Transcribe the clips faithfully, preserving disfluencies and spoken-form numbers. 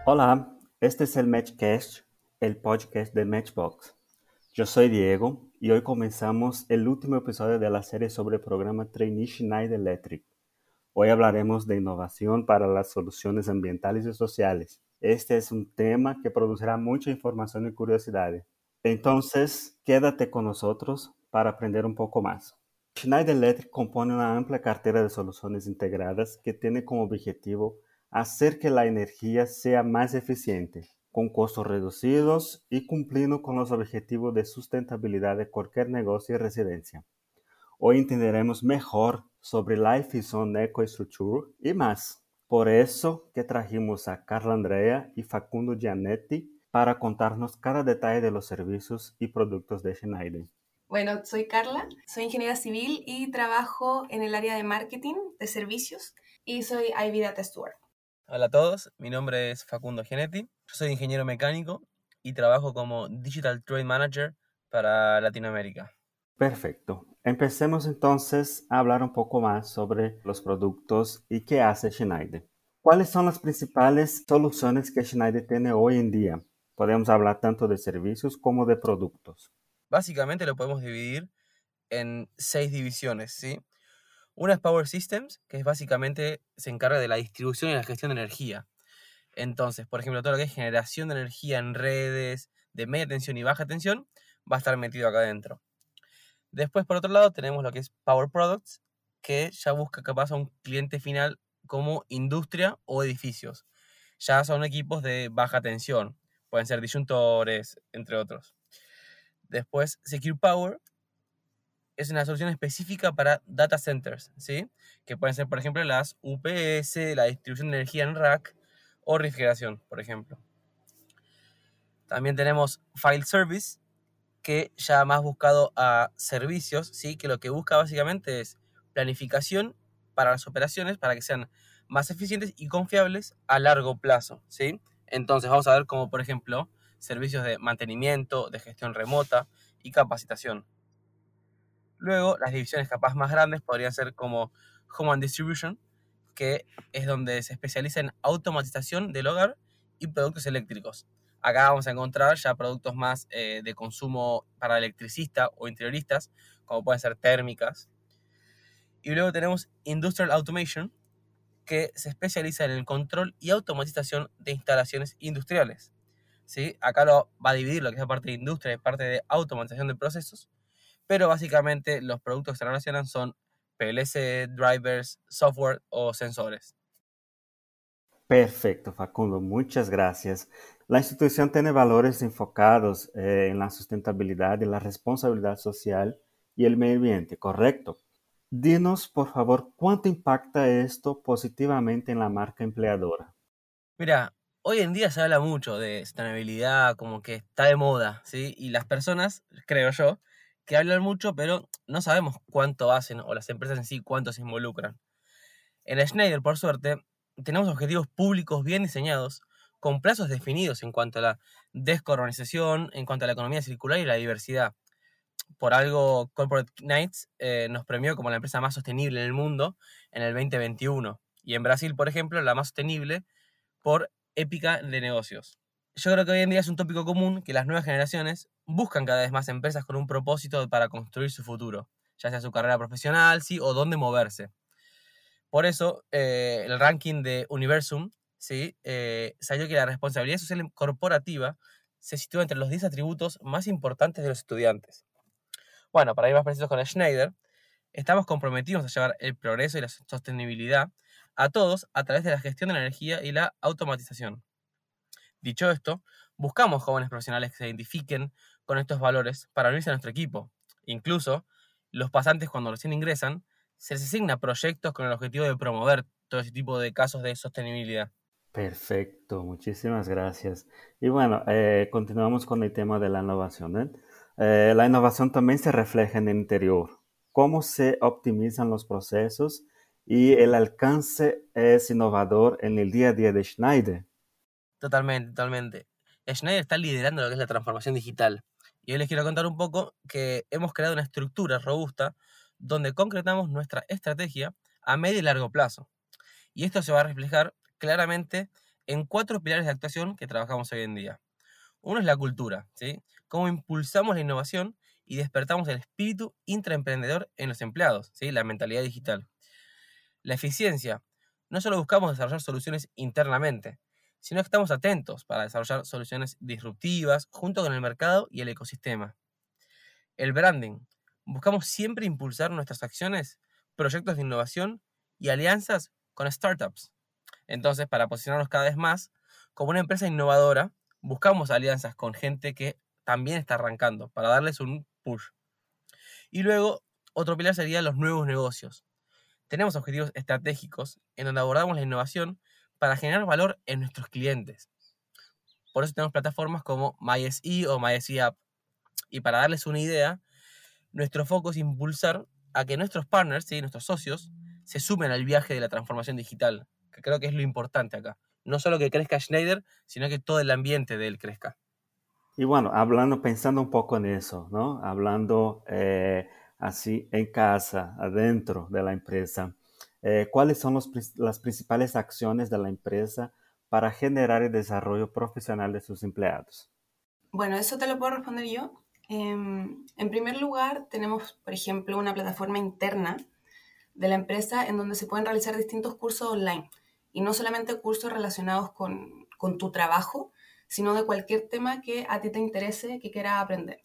Hola, este es el Matchcast, el podcast de Matchbox. Yo soy Diego y hoy comenzamos el último episodio de la serie sobre el programa Trainee Schneider Electric. Hoy hablaremos de innovación para las soluciones ambientales y sociales. Este es un tema que producirá mucha información y curiosidad. Entonces, quédate con nosotros para aprender un poco más. Schneider Electric compone una amplia cartera de soluciones integradas que tiene como objetivo hacer que la energía sea más eficiente, con costos reducidos y cumpliendo con los objetivos de sustentabilidad de cualquier negocio y residencia. Hoy entenderemos mejor sobre Life is on EcoStructure y más. Por eso que trajimos a Carla Andrea y Facundo Giannetti para contarnos cada detalle de los servicios y productos de Schneider. Bueno, soy Carla, soy ingeniera civil y trabajo en el área de marketing de servicios y soy Ivy Data Steward. Hola a todos, mi nombre es Facundo Giannetti, yo soy ingeniero mecánico y trabajo como Digital Trade Manager para Latinoamérica. Perfecto. Empecemos entonces a hablar un poco más sobre los productos y qué hace Schneider. ¿Cuáles son las principales soluciones que Schneider tiene hoy en día? Podemos hablar tanto de servicios como de productos. Básicamente lo podemos dividir en seis divisiones, ¿sí? Una es Power Systems, que es básicamente se encarga de la distribución y la gestión de energía. Entonces, por ejemplo, todo lo que es generación de energía en redes de media tensión y baja tensión va a estar metido acá adentro. Después, por otro lado, tenemos lo que es Power Products, que ya busca capaz a un cliente final como industria o edificios. Ya son equipos de baja tensión, pueden ser disyuntores, entre otros. Después, Secure Power es una solución específica para data centers, ¿sí? Que pueden ser, por ejemplo, las U P S, la distribución de energía en rack o refrigeración, por ejemplo. También tenemos File Service, que ya más buscado a servicios, ¿sí? Que lo que busca básicamente es planificación para las operaciones para que sean más eficientes y confiables a largo plazo, ¿sí? Entonces vamos a ver como, por ejemplo, servicios de mantenimiento, de gestión remota y capacitación. Luego, las divisiones capaz más grandes podrían ser como Home and Distribution, que es donde se especializa en automatización del hogar y productos eléctricos. Acá vamos a encontrar ya productos más eh, de consumo para electricista o interioristas, como pueden ser térmicas. Y luego tenemos Industrial Automation, que se especializa en el control y automatización de instalaciones industriales. ¿Sí? Acá lo va a dividir lo que es la parte de industria y parte de automatización de procesos, pero básicamente los productos que se relacionan son P L C, drivers, software o sensores. Perfecto, Facundo, muchas gracias. La institución tiene valores enfocados eh, en la sustentabilidad y la responsabilidad social y el medio ambiente, ¿correcto? Dinos, por favor, ¿cuánto impacta esto positivamente en la marca empleadora? Mira, hoy en día se habla mucho de sostenibilidad, como que está de moda, ¿sí? Y las personas, creo yo, que hablan mucho, pero no sabemos cuánto hacen, o las empresas en sí cuánto se involucran. En Schneider, por suerte, tenemos objetivos públicos bien diseñados, con plazos definidos en cuanto a la descarbonización, en cuanto a la economía circular y la diversidad. Por algo, Corporate Knights eh, nos premió como la empresa más sostenible en el mundo en el veinte veintiuno. Y en Brasil, por ejemplo, la más sostenible por Épica de Negocios. Yo creo que hoy en día es un tópico común que las nuevas generaciones buscan cada vez más empresas con un propósito para construir su futuro, ya sea su carrera profesional, sí, o dónde moverse. Por eso, eh, el ranking de Universum, ¿sí? eh, salió que la responsabilidad social corporativa se sitúa entre los diez atributos más importantes de los estudiantes. Bueno, para ir más precisos con Schneider, estamos comprometidos a llevar el progreso y la sostenibilidad a todos a través de la gestión de la energía y la automatización. Dicho esto, buscamos jóvenes profesionales que se identifiquen con estos valores para unirse a nuestro equipo. Incluso, los pasantes cuando recién ingresan, se les asigna proyectos con el objetivo de promover todo ese tipo de casos de sostenibilidad. Perfecto, muchísimas gracias. Y bueno, eh, continuamos con el tema de la innovación, ¿eh? Eh, la innovación también se refleja en el interior. ¿Cómo se optimizan los procesos y el alcance es innovador en el día a día de Schneider? Totalmente, totalmente. Schneider está liderando lo que es la transformación digital. Y hoy les quiero contar un poco que hemos creado una estructura robusta donde concretamos nuestra estrategia a medio y largo plazo. Y esto se va a reflejar claramente en cuatro pilares de actuación que trabajamos hoy en día. Uno es la cultura, ¿sí? Cómo impulsamos la innovación y despertamos el espíritu intraemprendedor en los empleados, ¿sí? La mentalidad digital. La eficiencia. No solo buscamos desarrollar soluciones internamente, sino que estamos atentos para desarrollar soluciones disruptivas junto con el mercado y el ecosistema. El branding. Buscamos siempre impulsar nuestras acciones, proyectos de innovación y alianzas con startups. Entonces, para posicionarnos cada vez más como una empresa innovadora, buscamos alianzas con gente que también está arrancando para darles un push. Y luego, otro pilar sería los nuevos negocios. Tenemos objetivos estratégicos en donde abordamos la innovación para generar valor en nuestros clientes. Por eso tenemos plataformas como MySE o MySE App. Y para darles una idea, nuestro foco es impulsar a que nuestros partners, ¿sí? Nuestros socios, se sumen al viaje de la transformación digital, que creo que es lo importante acá. No solo que crezca Schneider, sino que todo el ambiente de él crezca. Y bueno, hablando, pensando un poco en eso, ¿no? Hablando eh, así en casa, adentro de la empresa, eh, ¿cuáles son los, las principales acciones de la empresa para generar el desarrollo profesional de sus empleados? Bueno, eso te lo puedo responder yo. Eh, en primer lugar, tenemos, por ejemplo, una plataforma interna de la empresa en donde se pueden realizar distintos cursos online. Y no solamente cursos relacionados con, con tu trabajo, sino de cualquier tema que a ti te interese, que quieras aprender.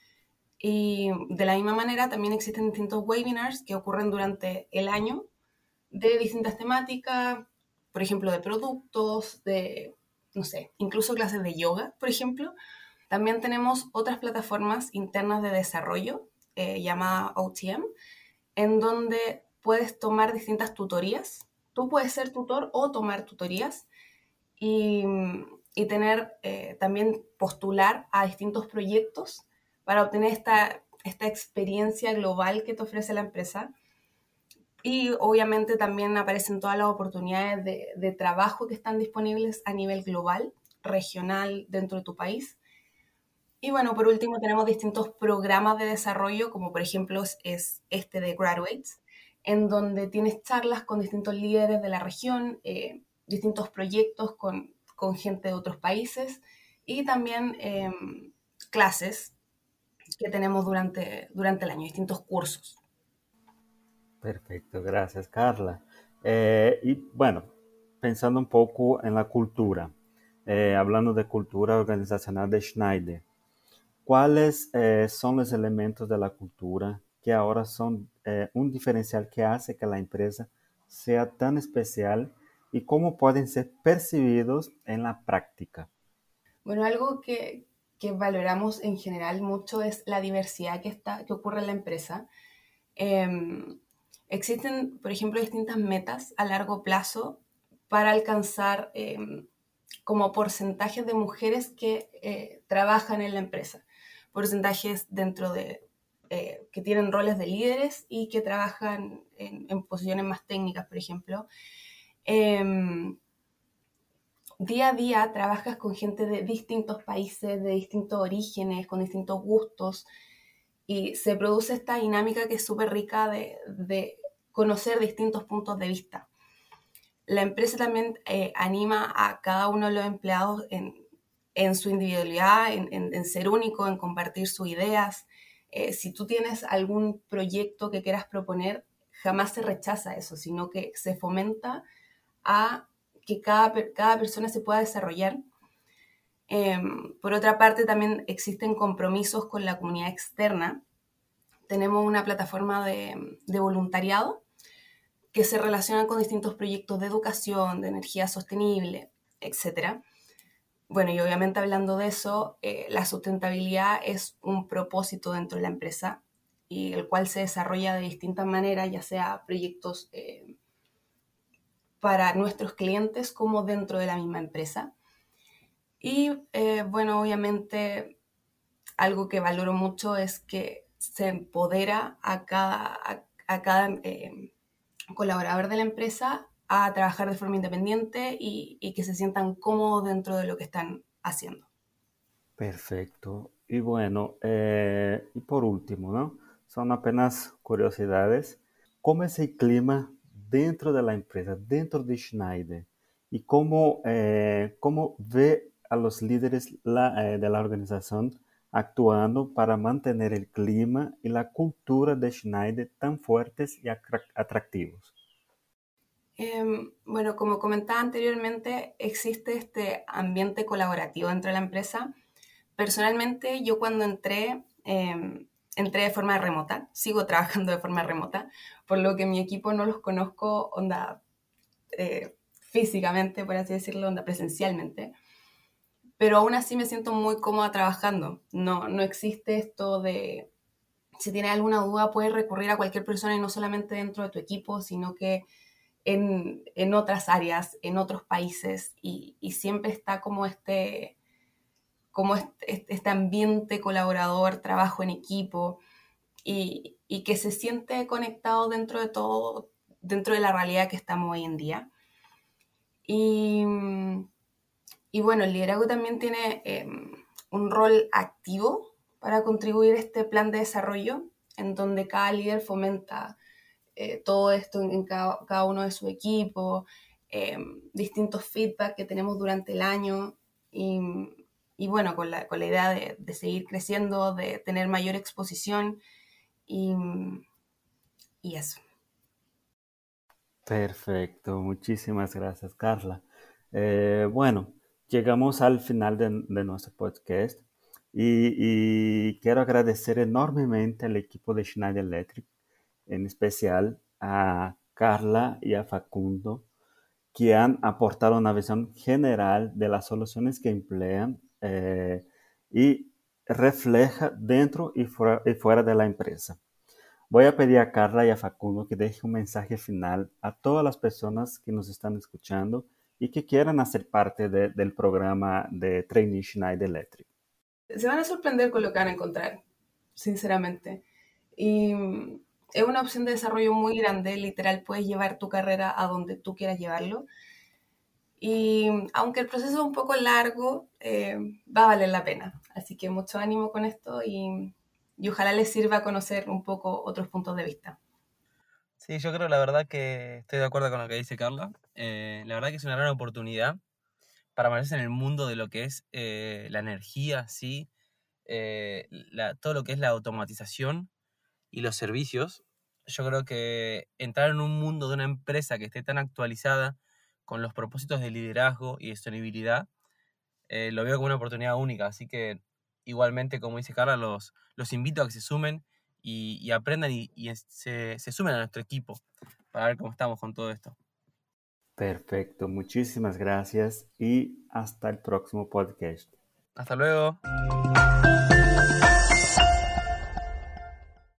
Y de la misma manera también existen distintos webinars que ocurren durante el año de distintas temáticas, por ejemplo, de productos, de, no sé, incluso clases de yoga, por ejemplo. También tenemos otras plataformas internas de desarrollo, eh, llamada O T M, en donde puedes tomar distintas tutorías. Tú puedes ser tutor o tomar tutorías y, y tener eh, también postular a distintos proyectos para obtener esta, esta experiencia global que te ofrece la empresa. Y obviamente también aparecen todas las oportunidades de, de trabajo que están disponibles a nivel global, regional, dentro de tu país. Y bueno, por último tenemos distintos programas de desarrollo, como por ejemplo es este de Graduates, en donde tienes charlas con distintos líderes de la región, eh, distintos proyectos con, con gente de otros países y también eh, clases que tenemos durante, durante el año, distintos cursos. Perfecto, gracias Carla. Eh, y bueno, pensando un poco en la cultura, eh, hablando de cultura organizacional de Schneider, ¿cuáles eh, son los elementos de la cultura que ahora son eh, un diferencial que hace que la empresa sea tan especial y cómo pueden ser percibidos en la práctica? Bueno, algo que, que valoramos en general mucho es la diversidad que, está, que ocurre en la empresa. Eh, existen, por ejemplo, distintas metas a largo plazo para alcanzar eh, como porcentajes de mujeres que eh, trabajan en la empresa, porcentajes dentro de eh, que tienen roles de líderes y que trabajan en, en posiciones más técnicas, por ejemplo. Eh, día a día trabajas con gente de distintos países, de distintos orígenes, con distintos gustos, y se produce esta dinámica que es súper rica de, de conocer distintos puntos de vista. La empresa también eh, anima a cada uno de los empleados en, en su individualidad, en, en, en ser único, en compartir sus ideas. Eh, si tú tienes algún proyecto que quieras proponer, jamás se rechaza eso, sino que se fomenta a que cada, cada persona se pueda desarrollar. Eh, por otra parte, también existen compromisos con la comunidad externa. Tenemos una plataforma de, de voluntariado que se relaciona con distintos proyectos de educación, de energía sostenible, etcétera. Bueno, y obviamente hablando de eso, eh, la sustentabilidad es un propósito dentro de la empresa y el cual se desarrolla de distintas maneras, ya sea proyectos eh, para nuestros clientes como dentro de la misma empresa. Y eh, bueno, obviamente algo que valoro mucho es que se empodera a cada, a, a cada eh, colaborador de la empresa a trabajar de forma independiente y, y que se sientan cómodos dentro de lo que están haciendo. Perfecto. Y bueno, eh, y por último, ¿no? Son apenas curiosidades. ¿Cómo es el clima dentro de la empresa, dentro de Schneider? y cómo, eh, cómo ve a los líderes la, eh, de la organización actuando para mantener el clima y la cultura de Schneider tan fuertes y atractivos. Eh, bueno, como comentaba anteriormente, existe este ambiente colaborativo dentro de la empresa. Personalmente, yo cuando entré, eh, entré de forma remota, sigo trabajando de forma remota, por lo que mi equipo no los conozco onda eh, físicamente, por así decirlo, onda presencialmente, pero aún así me siento muy cómoda trabajando. No, no existe esto de, si tienes alguna duda, puedes recurrir a cualquier persona y no solamente dentro de tu equipo, sino que en, en otras áreas, en otros países, y, y siempre está como este como este, este ambiente colaborador, trabajo en equipo y, y, que se siente conectado dentro de todo, dentro de la realidad que estamos hoy en día. Y, y bueno, el liderazgo también tiene eh, un rol activo para contribuir a este plan de desarrollo, en donde cada líder fomenta eh, todo esto en, en cada, cada, uno de su equipo, eh, distintos feedback que tenemos durante el año y, y bueno, con la, con la idea de, de seguir creciendo, de tener mayor exposición y, y eso. Perfecto, muchísimas gracias, Carla. Eh, bueno, llegamos al final de, de nuestro podcast y, y quiero agradecer enormemente al equipo de Schneider Electric, en especial a Carla y a Facundo, que han aportado una visión general de las soluciones que emplean eh, y refleja dentro y fuera, y fuera de la empresa. Voy a pedir a Carla y a Facundo que deje un mensaje final a todas las personas que nos están escuchando y que quieran hacer parte de, del programa de Trainee Schneider Electric. Se van a sorprender con lo que van a encontrar, sinceramente. Y es una opción de desarrollo muy grande, literal, puedes llevar tu carrera a donde tú quieras llevarlo. Y aunque el proceso es un poco largo, eh, va a valer la pena. Así que mucho ánimo con esto y, y ojalá les sirva a conocer un poco otros puntos de vista. Sí, yo creo la verdad que estoy de acuerdo con lo que dice Carla. Eh, la verdad que es una gran oportunidad para meterse en el mundo de lo que es eh, la energía, ¿sí? Eh, la, todo lo que es la automatización y los servicios. Yo creo que entrar en un mundo de una empresa que esté tan actualizada con los propósitos de liderazgo y de sostenibilidad, eh, lo veo como una oportunidad única. Así que igualmente, como dice Carla, los, los invito a que se sumen y, y aprendan y, y se, se sumen a nuestro equipo para ver cómo estamos con todo esto. Perfecto, muchísimas gracias y hasta el próximo podcast. Hasta luego.